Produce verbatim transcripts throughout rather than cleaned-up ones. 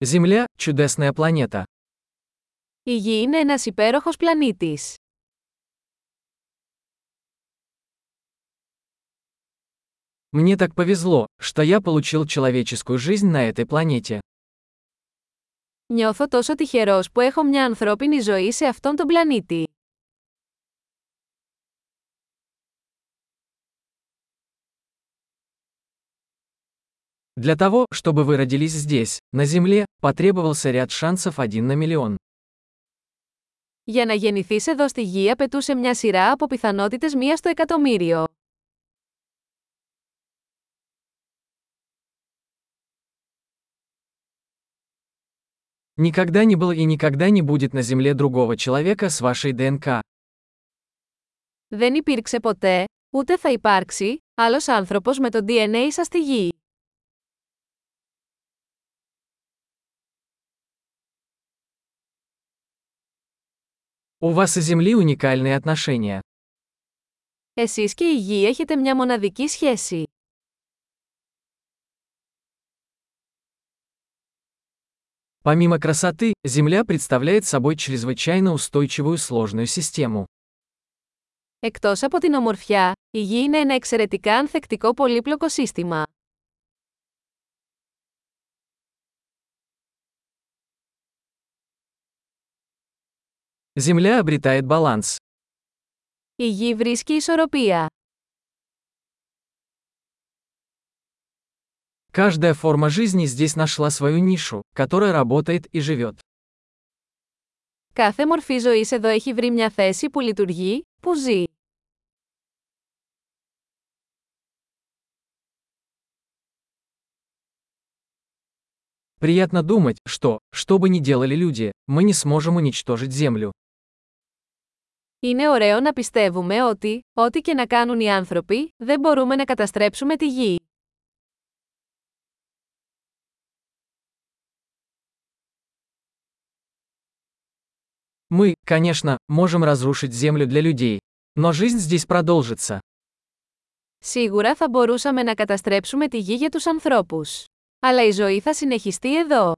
Земля– чудесная планета. Η Γη είναι ένας υπέροχος πλανήτης. Мне так повезло, что я получил человеческую жизнь на этой планете. Νιώθω τόσο τυχερός που έχω μια ανθρώπινη ζωή σε αυτόν τον πλανήτη. Для того, чтобы вы родились здесь, на Земле, потребовался ряд шансов один на миллион. Για να γεννηθείς εδώ στη Γη απαιτούσε μια σειρά από πιθανότητες μία στο εκατομμύριο. Никогда не было и никогда не будет на Земле другого человека с вашей ДНК. Δεν υπήρξε ποτέ, ούτε θα υπάρξει, άλλος άνθρωπος με το ντι εν έι σας στη Γη. У вас и Земли уникальные отношения. Εσείς και η Γη έχετε μια μοναδική σχέση. Помимо красоты, Земля представляет собой чрезвычайно устойчивую сложную систему. Εκτός από την ομορφιά, η Γη είναι ένα εξαιρετικά ανθεκτικό πολύπλοκο σύστημα. Земля обретает баланс. Η Γη βρίσκει ισορροπία. Каждая форма жизни здесь нашла свою нишу, которая работает и живет. Κάθε μορφή ζωής εδώ έχει βρει μια θέση που λειτουργεί, που ζει. Приятно думать, что, что бы ни делали люди, мы не сможем уничтожить Землю. Είναι ωραίο να πιστεύουμε ότι, ό,τι και να κάνουν οι άνθρωποι, δεν μπορούμε να καταστρέψουμε τη Γη. Мы, конечно, можем разрушить Землю для людей, но жизнь здесь продолжится. Σίγουρα θα μπορούσαμε να καταστρέψουμε τη Γη για τους ανθρώπους. Αλλά η ζωή θα συνεχιστεί εδώ.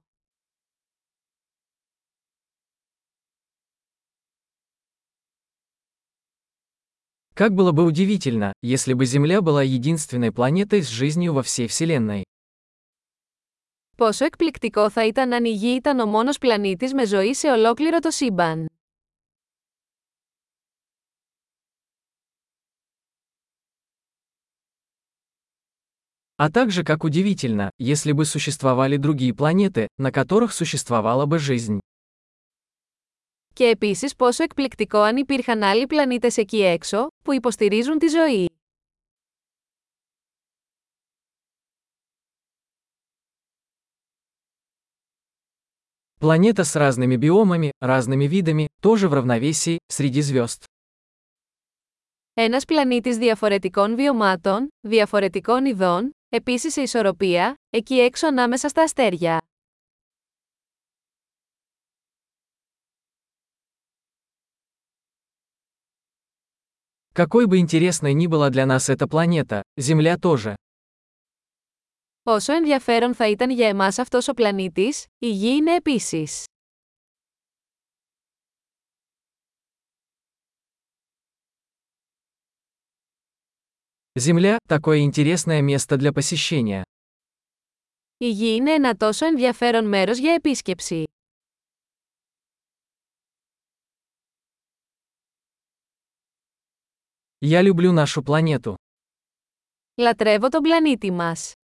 Как было бы удивительно, если бы Земля была единственной планетой с жизнью во всей Вселенной. Πόσο εκπληκτικό θα ήταν αν η Γη ήταν ο μόνος πλανήτης με ζωή σε ολόκληρο το σύμπαν. А также как удивительно, если бы существовали другие планеты, на которых существовала бы жизнь. Και επίσης πόσο εκπληκτικό αν υπήρχαν άλλοι πλανήτες εκεί έξω, που υποστηρίζουν τη ζωή. Планета с разными биомами, разными видами, тоже в равновесии, среди звезд. Ένας πλανήτης διαφορετικών βιωμάτων, διαφορετικών ειδών, επίσης σε ισορροπία, εκεί έξω ανάμεσα στα αστέρια. Какой бы интересной ни была для нас эта планета, Земля тоже. Όσο ενδιαφέρον θα ήταν για εμάς αυτός ο πλανήτης, η Γη είναι επίσης. Земля – такое интересное место для посещения. Η Γη είναι ένα τόσο ενδιαφέρον μέρος για επίσκεψη. Я люблю нашу планету. Λατρεύω τον πλανήτη μας.